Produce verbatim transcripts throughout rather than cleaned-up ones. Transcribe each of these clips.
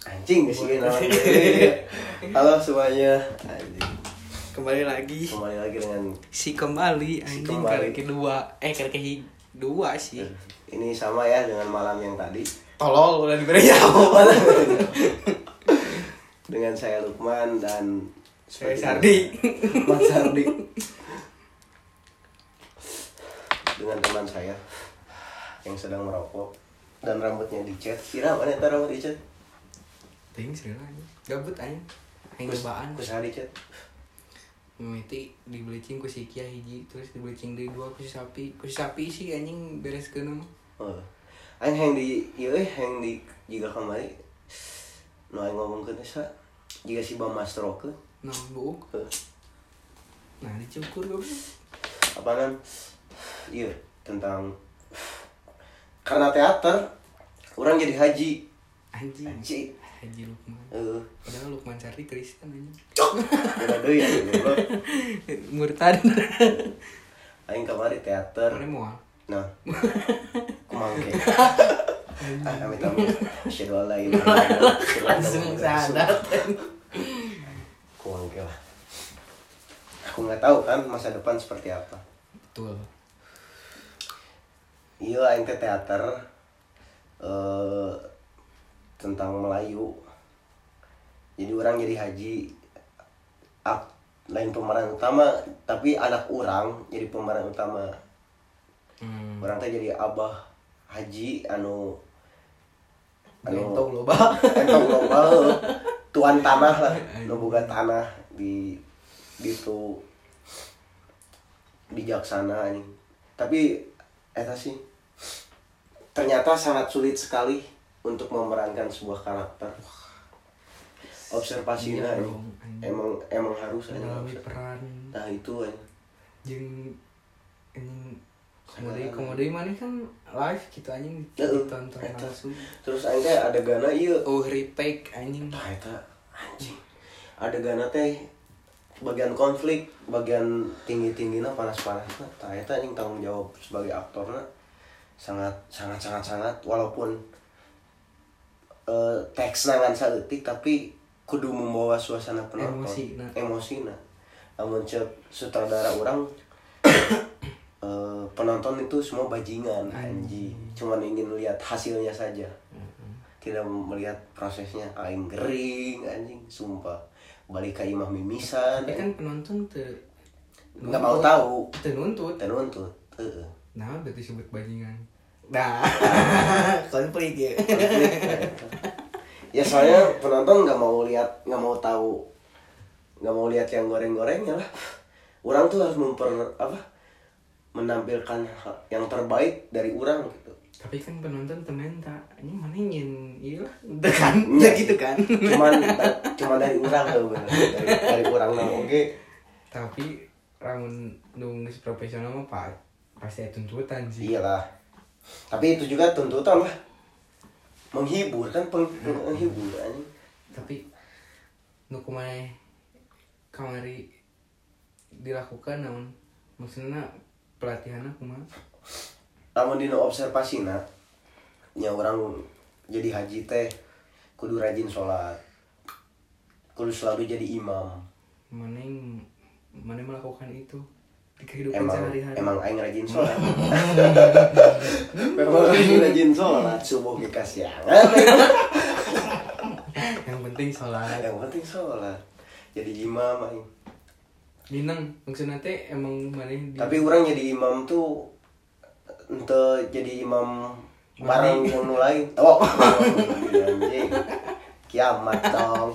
Anjing sih namanya. Halo semuanya. Anjing. Kembali lagi. Kembali lagi dengan si kembali anjing si kembali. Kali kedua. Eh kali kedua sih. Ini sama ya dengan malam yang tadi. Tolol udah diberi jawab. Dengan saya Lukman dan saya Sardi. Mas Sardi. Dengan teman saya yang sedang merokok dan rambutnya dicat. Kira mana eta rambut dicat? Ting sih lah. Gabut aja. Aing cobaan. Ku saha dicat? Mimiti di bleaching ku si Kia hiji, terus di bleaching deui dua ku si sapi. Ku si sapi sih anjing bereskeun mah. Oh. Aing yang di ieu euy yang di jiga kamari. Nu aing ngomongkeun sa jiga si Bang Mastro ke. Nah, buuk. Nah, dicukur goblok. Apaan? Iya, tentang karena teater orang jadi haji. Anjing. Haji. Haji Lukman. Heeh. Uh. Padahal Lukman Sardi Kristen anjing. Beda deui ya, goblok. Murtad. Aing kamari teater. Mana moal? Nah. Kumangke. Ah, amit amit. Asyhadu an la ilaha illallah. Langsung sadar. Kumangke lah. Aku enggak tahu kan masa depan seperti apa. Betul. Iya, aing teh teater eh tentang Melayu. Jadi orang jadi haji, ak, lain pemeran utama, tapi anak orang jadi pemeran utama. Hmm. Orang teh jadi abah haji anu anu entong loba. Entong loba. Tuan tanah lah, nu boga tanah di ditu bijaksana anjing. Tapi eta sih ternyata sangat sulit sekali untuk memerankan sebuah karakter. Observasinya iya dong, emang emang harus ada peran. Nah itu aja. Jeung anjing komedi komedi mana kan live gitu anjing ditonton langsung. Terus aing teh adegana ieu oh retake anjing. Tah eta anjing. Adegana teh bagian konflik, bagian tinggi-tingginya panas-panasna. Tah eta anjing tanggung jawab sebagai aktorna sangat sangat sangat sangat walaupun uh, teks nangan saeutik tapi kudu membawa suasana penonton emosina emosina amun cek sutradara orang uh, penonton itu semua bajingan anjing cuman ingin lihat hasilnya saja mm-hmm. Tidak melihat prosesnya aing gering anjing sumpah balik ke imah mimisan tapi kan penonton tuh nggak mau tahu tenuntut tenuntut heeh. Nah berarti disebut bajingan nah konflik ya ya soalnya penonton nggak mau lihat nggak mau tahu nggak mau lihat yang goreng-gorengnya lah orang tuh harus memper apa menampilkan yang terbaik dari orang gitu tapi kan penonton temen tak ini mana nyen iya lah kan ya gitu kan cuman cuma dari orang tuh bener dari, dari orang nang oke tapi ramun nulis profesional mah pak pasti ada tuntutan sih iyalah tapi itu juga tuntutan lah menghibur kan peng- menghibur anjing tapi nu kumaha kamari dilakukan namun maksudnya pelatihanna kumaha lamun dina observasina nya orang jadi haji teh kudu rajin sholat kudu selalu jadi imam mana yang mana melakukan itu di kehidupan emang, sehari-hari emang aing rajin sholat memang aing rajin sholat subuh ke kasiangan yang penting sholat yang penting sholat jadi imam aing Dinang maksudnya teh emang mana di... tapi orang jadi imam tuh ente jadi imam bareng yang lain oh anjing kiamat dong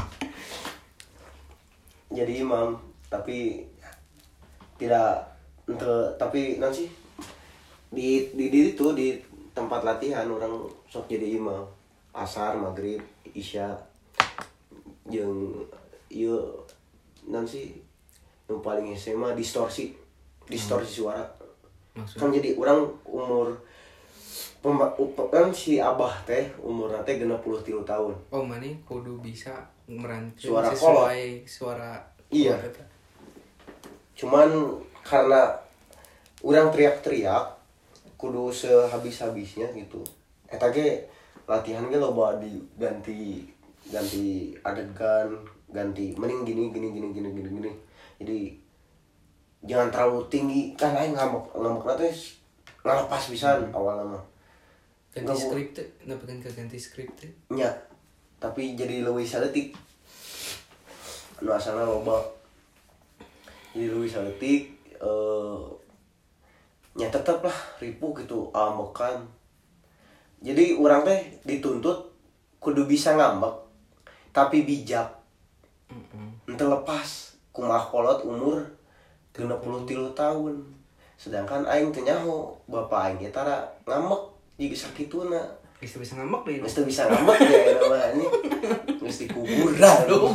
jadi imam tapi tidak ente tapi nanti di di di itu di tempat latihan orang sok jadi imam asar maghrib isya jeung ieu nanti yang paling S M A distorsi distorsi hmm. suara maksudnya? Kan jadi orang umur pemba, kan si abah teh umur teh genep puluh tiga tahun oh mana kudu bisa merantai suara sesuai kolot. Suara iya kolot. Cuman karena orang teriak-teriak kudu sehabis-habisnya gitu eta ge latihan ge loba diganti ganti adegan, ganti mending gini gini gini gini gini gini. Jadi jangan terlalu tinggi kan aing ngambek ngambek teh ngalepas pisan hmm. awalnya mah. Ganti skrip teh, napekeun ke ganti skrip teh. Nya. Tapi jadi leuwih saleutik. Anu asalna loba. Jadi leuwih saleutik eh nya tetep lah ripuh gitu ambekan. Jadi urang teh dituntut kudu bisa ngambek tapi bijak. Heeh. Henteu lepas kumaha kolot umur genep puluh tilu tahun. Sedangkan aing teh nyaho bapak aing eta tara ngambek jiga sakituna. Geus bisa ngambek deui. Geus bisa ngambek ya eta mah anjing. Geus dikuburan dong.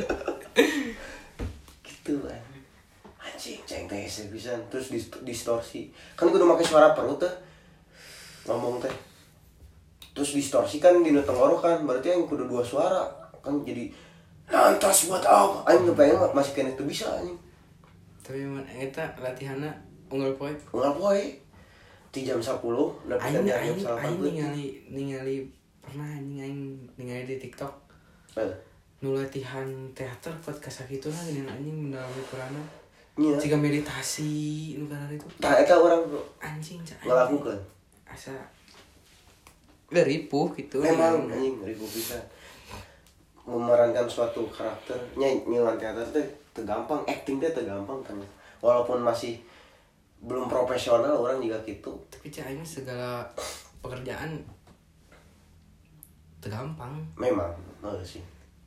Gitu kan. Anjing ceng teh pisan terus distorsi. Kan kudu make suara perut teh. Ngomong teh. Terus distorsi kan dina tenggorokan, berarti aing kudu dua suara. Kan jadi lantas buat apa? Aing ngebayang masih kena itu bisa anjing. Tapi eta latihanna unggal poe. Unggal poe. Di jam sepuluh, aing aing aing ningali ningali pernah anjing aing ningali di TikTok. Eh. Nu latihan teater buat kasakituna geuning anjing mendalami peranna. Iya. Jika meditasi nu kana itu. Tah eta urang anjing cai. Ngalakukeun. Asa ripuh gitu. Memang anjing ripuh bisa. Memerankan suatu karakter nya nyeungan teater teh teu gampang, acting teh teu gampang kan. Walaupun masih belum profesional orang juga gitu. Tapi cahaya segala pekerjaan tergampang. Memang, oh sih.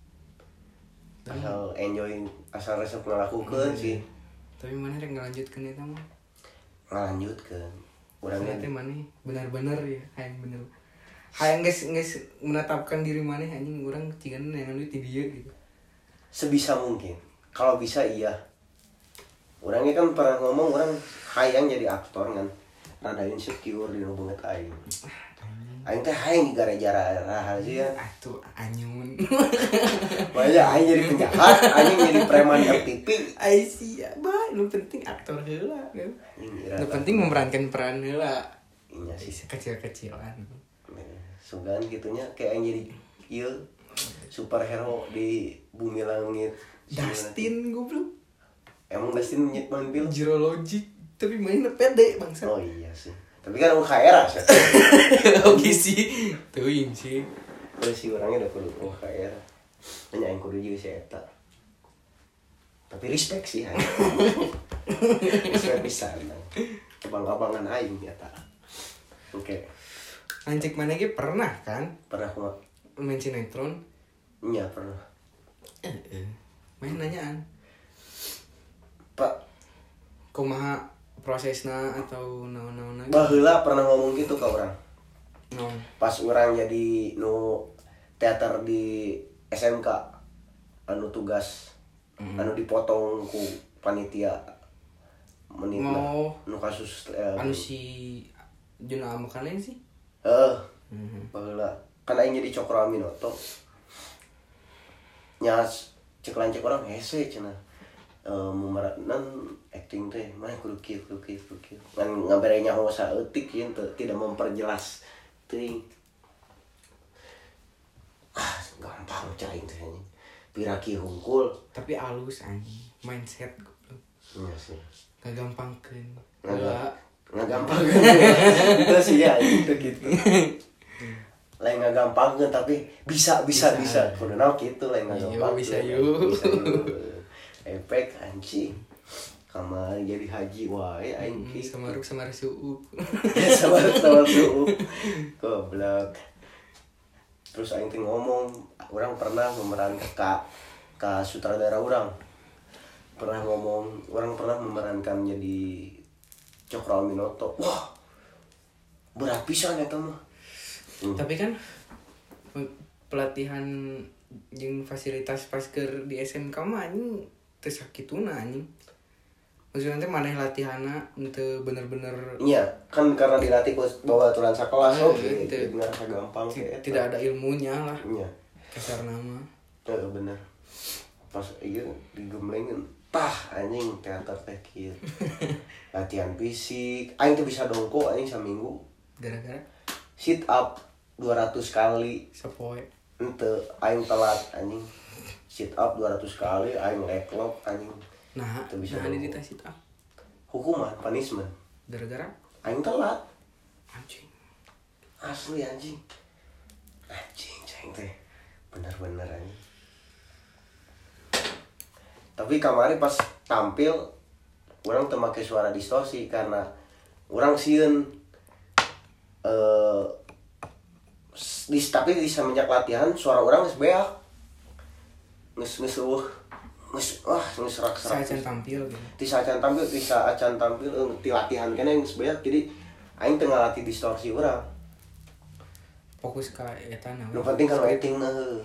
Asal enjoy, asal resep ngelakukan hmm. sih. Tapi mana rek ngelanjutkan itu mah? Ngelanjutkan. Orangnya teh mana benar-benar ya, hayang bener. Hayang guys guys menetapkan diri mana anjing orang cigan yang lu di dia gitu. Sebisa mungkin. Kalau bisa iya. Orangnya kan pernah ngomong orang hayang jadi aktor kan, rada insecure di banget aing. Aing teh hayang digara-gara rahasia. Atuh anyun. Makanya aing jadi penjahat, aing jadi preman F T V. Ai sia, bah, nu penting aktor heula kan. Nu penting memerankan peran heula. Iya sih kecil-kecilan. Sugan gitunya kayak aing jadi ieu superhero di bumi langit. Dustin goblok. Emang Dustin main film Zero Logic tapi mainnya pede bangsa. Oh iya sih. Tapi kan U K R sih. Oke sih. Teuing sih. Terus si orangnya udah kudu U K R. Hanya yang kudu juga si eta. Tapi respect sih aing. Respect pisan. Abang-abangan aing eta. Oke. Anjing mana ge pernah kan? Pernah kumaha? Main sinetron? Iya, pernah. Heeh. Main nanyaan. Pak, kumaha prosesna atau naon-naon lagi? Baheula pernah ngomong gitu ke orang. No. Pas orang jadi nu teater di S M K anu tugas mm. anu dipotong ku panitia menit oh. nu kasus eh, anu si Juna Amukalen sih? Heeh. Uh, mm-hmm. Baheula kan aing jadi Cokro Aminoto. Nya cek lancek orang hese cenah. Uh, memeranan acting teh mah kudu kieu kudu kieu kudu kieu ngan ngabere nyaho saeutik ieu tidak memperjelas teuing ah gampang cai teh anjing piraki hungkul tapi alus anjing mindset goblok iya sih ngagampangkeun enggak ngagampangkeun itu sih ya itu gitu lain ngagampangkeun tapi bisa bisa bisa kudu naon kitu lain ngagampangkeun bisa yuk bisa yuk efek anjing kamar jadi haji wae aing ki samaruk samar suuk samaruk samar suuk goblok terus aing teh ngomong orang pernah memerankan ka ka sutradara orang pernah ngomong orang pernah memerankan jadi Cokro Aminoto wah berat pisan eta mah hmm. Tapi kan pelatihan jeung fasilitas pasker di S M K mah anjing teu sakituna anjing. Maksudnya teh maneh latihanna teu bener-bener iya, kan karena dilatih bawa aturan sakelas oh, oke, okay. Bener gampang kayak tidak ada ilmunya lah. Iya. Kasar nama. Heeh, bener. Pas ieu digemlengin tah anjing teater teh kieu. Latihan fisik, aing teh bisa dongko anjing saminggu. Gara-gara sit up dua ratus kali sapoe. ente aing telat anjing sit up dua ratus kali aing backlog anjing. Nah, teu bisa nah di sit up. Hukuman, punishment. Gara-gara aing telat. Anjing. Asli anjing. Anjing ceng teh. Bener-bener anjing. Tapi kemarin pas tampil orang teu make suara distorsi karena orang sieun eh di tapi di semenjak latihan suara orang geus beak. Geus geus eueuh. Geus wah geus serak-serak. Sacan tampil gitu. Di sacan tampil, di sacan tampil di latihan keneh geus beak jadi aing teu ngalatih distorsi urang. Fokus ka eta na. Nu penting kan waiting na heuh.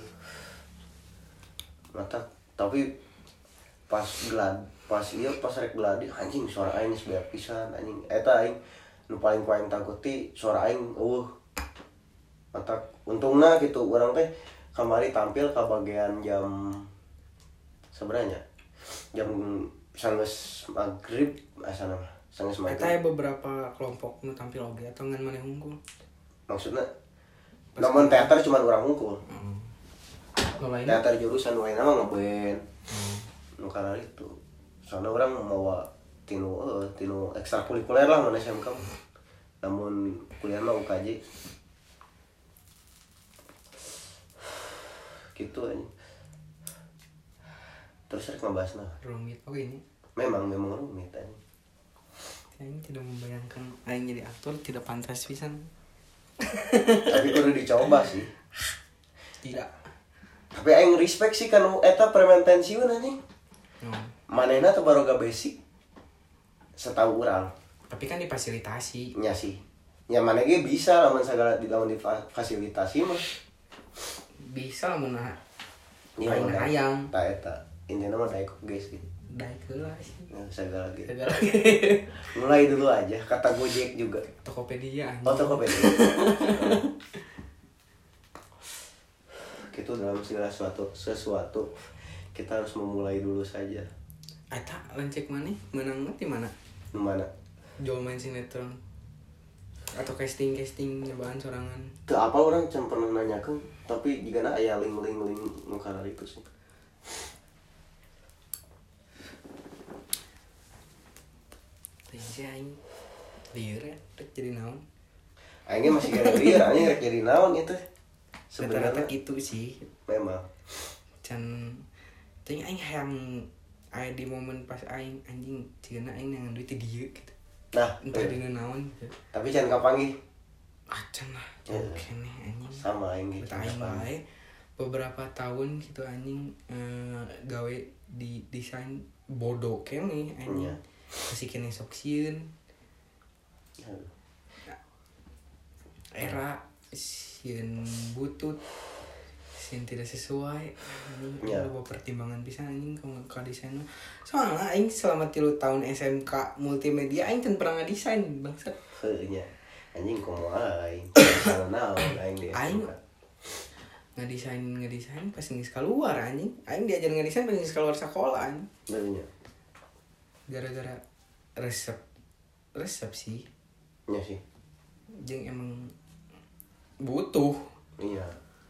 Mata tapi pas glad pas ieu pas rek gladi anjing suara aing geus beak pisan anjing. Eta aing nu paling ku aing takuti suara aing eueuh. Mata untungna gitu urang teh kamari tampil ka bagian jam sebenarnya jam sanggeus maghrib asana mah sanggeus maghrib. Eta beberapa kelompok nu tampil oge atau ngan maneh unggul. Maksudna namun teater cuma urang unggul. Heeh. Nu lain Teater jurusan lain mah ngeband. Hmm. Nu kana itu. Soalnya orang mau tinu eh tinu ekstrakurikuler lah mana S M K. Namun kuliah mah U K J. Gitu aja. Terus rek ngebahasna. Rumit oke ini. Memang memang rumit aja. Aing tidak membayangkan aing jadi aktor tidak pantas pisan. Tapi kudu dicoba sih. Tidak. Tapi aing respect sih kan eta premen pensiun anjing. Hmm. Manehna teh baroga basic. Setahu urang. Tapi kan difasilitasi. Nya sih. Ya mana ge bisa lamun sagala di lamun difasilitasi mah. Bisa lamun nah. Iya, Aing hayang. Ta eta. Intina mah daek ge sih. Daek heula sih. Ya, segala gitu. Segala. Mulai dulu aja kata Gojek juga. Tokopedia anjing. Oh, Tokopedia. Gitu dalam segala sesuatu sesuatu kita harus memulai dulu saja. Eta lancek maneh menang di mana? Di mana? Jual main sinetron. Atau casting-casting nyobaan sorangan. Teu apa orang can pernah nanyakeun, tapi jigana aya link-link-link nu kana itu sih. Teh aing lieur rek jadi naon? Aing masih gara lieur, aing rek jadi naon itu. Sebenarnya gitu sih. Memang. Can teuing aing hayang aya di momen pas aing anjing cigana aing nangan duit di dieu gitu. Nah, entah dina naon gitu. Tapi can kapanggih? Ah can lah. Ya. Kene anjing. Sama aing gitu. Aing wae beberapa tahun gitu anjing eh, gawe di desain bodoh kene anjing. Ya. Masih kene sok sieun. Era sieun butut sieun tidak sesuai anjing Ya. ada pertimbangan pisan anjing ka ka desain mah. Soalnya aing selama tilu tahun S M K multimedia aing teu pernah ngadesain bangsat. Heuh nya. Anjing kumaha aing. Naon aing di Aing ngadesain ngadesain pas geus keluar anjing. Aing diajar ngadesain pas geus keluar sekolah anjing. Bener nya. Gara-gara resep resep sih. Nya sih. Jeung emang butuh. Iya.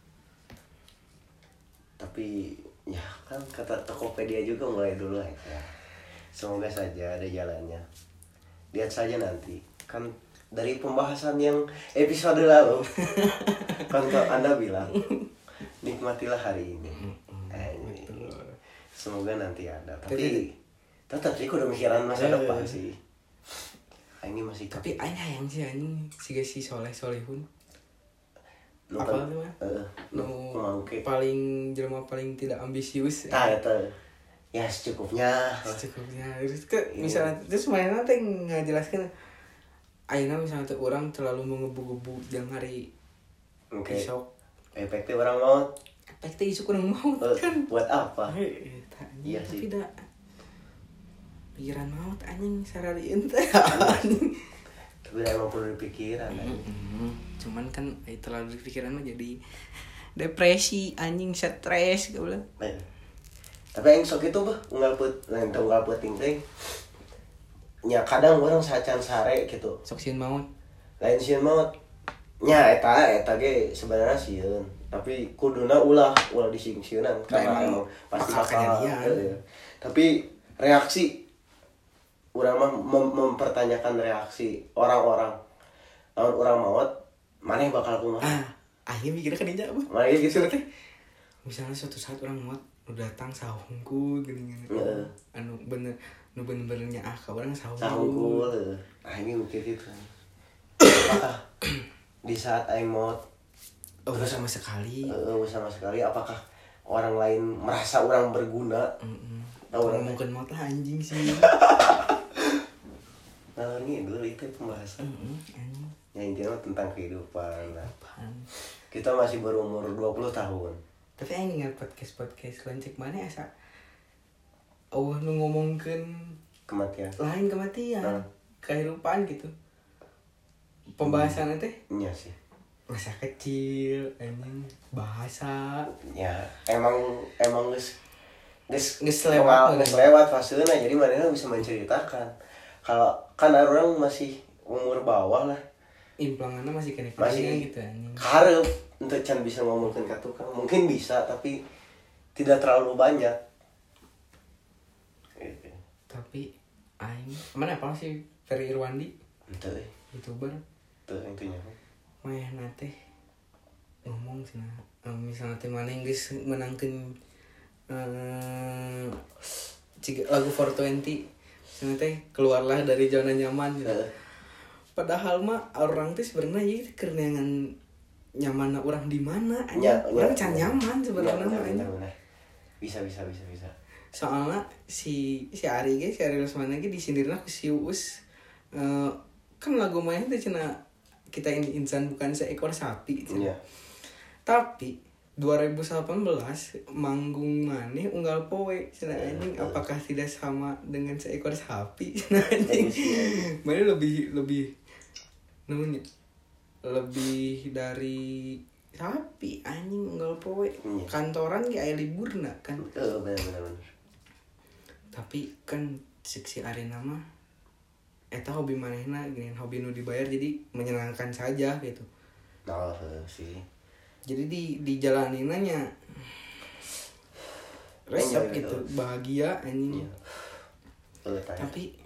Tapi ya kan kata Tokopedia juga mulai dulu ya. Semoga saja ada jalannya. Lihat saja nanti. Kan dari pembahasan yang episode lalu kan Anda bilang nikmatilah hari ini. Eh, semoga nanti ada. Tapi tetap sih udah mikiran masa depan sih. Ini masih tapi aing hayang sih anjing siga si Soleh Solihun. Lupa, apa tuh mah? Heeh. Nu paling jelema paling tidak ambisius. Tah eta. Ya secukupnya. Secukupnya. Terus ke misalnya terus mainan teh ngajelaskeun ayeuna misalnya teh urang terlalu mengebu-gebu jang hari okay. Besok efeknya orang maut. Efek teh isu kurang maut kan. Buat apa? Eta. Iya sih. Tidak pikiran maut anjing sararieun teh anjing. Tapi emang perlu dipikiran anjing. Mm-hmm. Cuman kan eh, terlalu dipikiran mah jadi depresi anjing stres gitu. Eh. Tapi aing sok itu bah unggal put lain teu unggal peuting teh. Nya kadang orang sacan sare gitu. Sok sieun maut. Lain sieun maut. Nya eta eta ge sebenarnya sieun. tapi kuduna ulah ulah disingsieunan karena emang pasti bakal ya. Tapi reaksi urang mah mem- mempertanyakan reaksi orang-orang lawan urang maot maneh bakal kumaha ah akhirnya mikirnya kan injak bah maneh gitu teh misalnya suatu saat orang maot nu datang sahungku gini-gini uh. anu bener nu bener-benernya ah ka urang sahungku sahungku ah ini mikir gitu apakah di saat aing maot oh sama sekali uh, sama sekali apakah orang lain merasa orang berguna heeh tahu mungkin maot lah anjing sih nah ini dulu itu pembahasan mm-hmm. yang intinya tentang kehidupan lah. Kita masih berumur dua puluh tahun tapi yang ingat podcast-podcast lancik mana asa Allah nu ngomongkeun kematian lain kematian nah. Kehidupan gitu pembahasannya teh iya sih masa kecil anjing bahasa ya emang emang geus geus geus lewat geus lewat fasenya jadi manehna bisa menceritakan kalau kan orang masih umur bawah lah implangannya masih kena masih gitu anjing hareup untuk can bisa ngomongkeun ka tukang mungkin bisa tapi tidak terlalu banyak gitu. Tapi aing mana apa sih Ferry Irwandi ente youtuber teu intinya mah nate ngomong cenah um, misalnya teh mana geus menangkeun uh, lagu four twenty cenah teh keluarlah dari zona nyaman gitu. Uh. Padahal mah orang teh sebenarnya ya kerenangan nyamanna orang di mana ya, orang ya, can ya. nyaman sebenarnya ya, ya, bisa bisa bisa bisa soalnya si si Ari ge si Ari Lesmana ge disindirna ku si Uus uh, kan lagu main teh cenah kita ini insan bukan seekor sapi cenah. Ya. Tapi dua ribu delapan belas manggung maneh unggal poe cenah anjing uh, uh. Apakah tidak sama dengan seekor sapi cenah anjing mana lebih lebih namanya lebih dari sapi anjing unggal poe ya. Kantoran ge aya liburna kan heeh bener bener tapi kan seksi arena mah eta hobi manehna gini hobi nu dibayar jadi menyenangkan saja gitu nah oh, sih jadi di dijalani nanya resep gitu bahagia anjing ya. Oh, tapi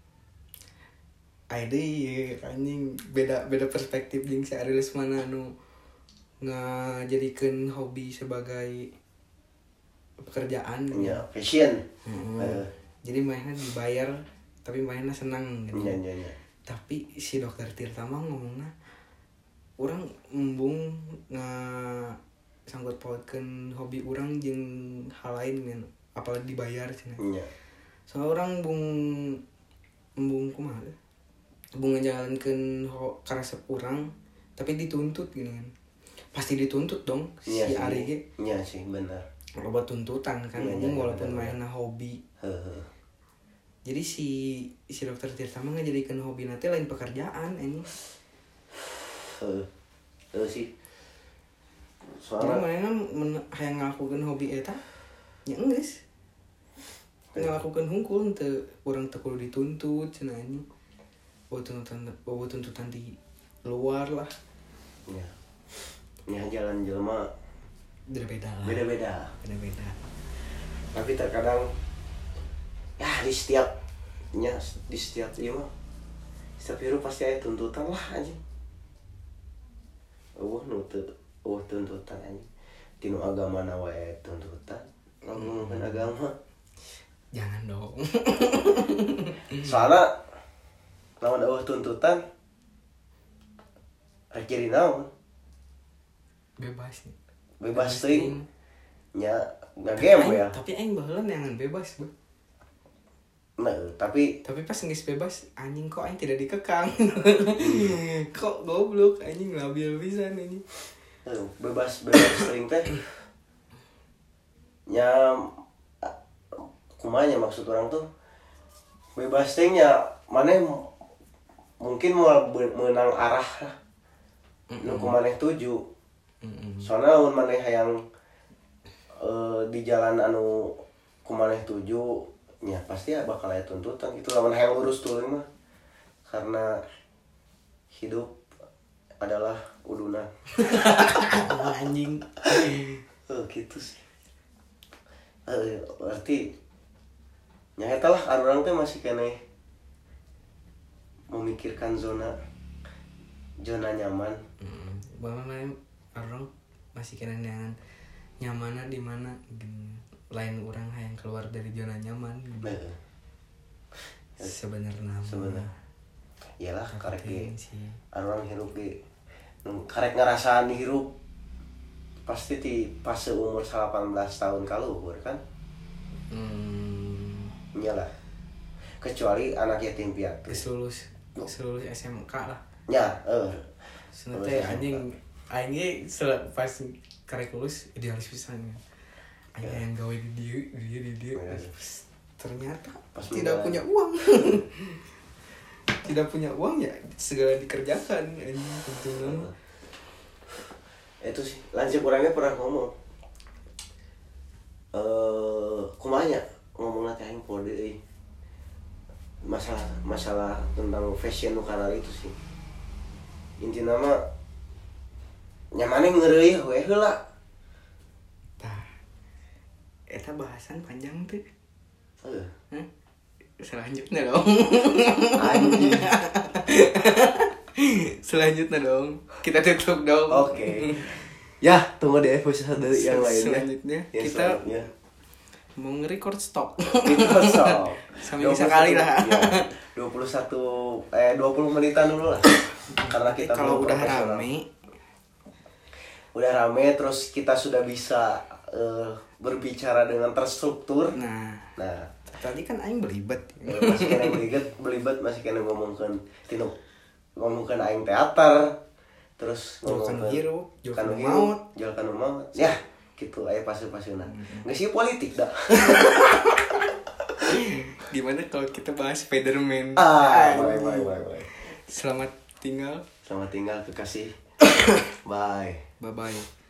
ade anjing beda beda perspektif jeung si Ari Lesmana nu ngajadikeun hobi sebagai pekerjaan ya passion hmm. uh. Jadi mainnya dibayar tapi mainnya senang gitu ya, ya, ya. Tapi si dokter Tirta mah ngomongna orang embung nga sangkut pautkeun hobi orang jeung hal lain men apalagi dibayar cenah ya. Soalnya orang bung embung kumaha embung ngajalankeun karesep urang tapi dituntut gini kan pasti dituntut dong ya, si Ari ge iya sih benar loba tuntutan kan ya, ya, walaupun mainnya hobi heeh. Jadi si si dokter Tirta mah ngajadikeun hobi nanti lain pekerjaan ini heeh heeh sih soalnya mainnya hayang ngelakukeun hobi eta nya enggeus ngelakukeun hungkul teu urang teu kudu dituntut cenah anjing bawa tuntutan bawa tuntutan di luar lah ya nya jalan jelema beda-beda lah beda-beda beda-beda tapi terkadang ya di setiap nya di setiap ieu mah setiap hirup pasti ada tuntutan lah anjing eueuh nu teu eueuh tuntutan anjing tinu agamana wae tuntutan ngomongkeun hmm. agama jangan dong soalnya lawan eueuh tuntutan rek jadi naon bebas nih bebas teuing nya ngagame ya tapi aing baheula neangan bebas bu nah tapi tapi pas geus bebas anjing kok aing tidak dikekang hmm. Kok goblok anjing labil pisan anjing bebas bebas teuing teh nya kumanya maksud orang tuh bebas teuing nya maneh mungkin mau menang arah nu kumaneh tuju mm-hmm. Soalnya lamun maneh hayang e, di jalan anu kumaneh tuju nya pasti ya bakal aya tuntutan gitu lamun hayang lurus tuluy mah karena hidup adalah uduna. Anjing. Oh gitu sih. Eh, berarti nyata lah orang teh masih kene memikirkan zona zona nyaman. Hmm, bagaimana orang masih kena nyaman nyamannya di mana lain orang yang keluar dari zona nyaman gitu. Nah, sebenarnya sebenarnya iyalah karek ge sih orang hirup ge karek ngerasaan hirup pasti di fase umur delapan belas tahun kaluhur kan. hmm. Iyalah kecuali anak yatim piatu kesulus kesulus S M K lah ya eh senete anjing aing pas karek lulus idealis pisan aing yang gawe di dieu di dieu di dieu ternyata pas tidak punya uang. Tidak punya uang ya segala dikerjakan anjing tentunya. Itu sih lanjut orangnya pernah ngomong eh kumanya ngomong nanti aing pode euy masalah masalah tentang fashion nu kanal itu sih intina mah nyamane ngeureuyeuh we heula tah eta bahasan panjang tuh. Heeh. Hah? Selanjutnya dong. Anjing. Selanjutnya dong. Kita tutup dong. Oke. Okay. Ya, tunggu deh episode yang lainnya. Selanjutnya ya, kita selanjutnya. Mau nge-record stok. Record stok. Seminggu sekali lah. Ya, dua puluh satu eh dua puluh menitan dulu lah. Karena kita kalau udah rame udah rame terus kita sudah bisa uh, berbicara dengan terstruktur. Nah, nah tadi kan aing belibet. Masih kena belibet, belibet masih kena ngomongkan tinu ngomongkan aing teater. Terus ngomongkan hirup, kan maut, jual kan maut. Ya, gitu aya paseu-paseuna. Geus ieu politik dah. Gimana kalau kita bahas Spiderman? Ah, bye bye bye bye. Selamat tinggal. Selamat tinggal kekasih. Bye. Bye bye.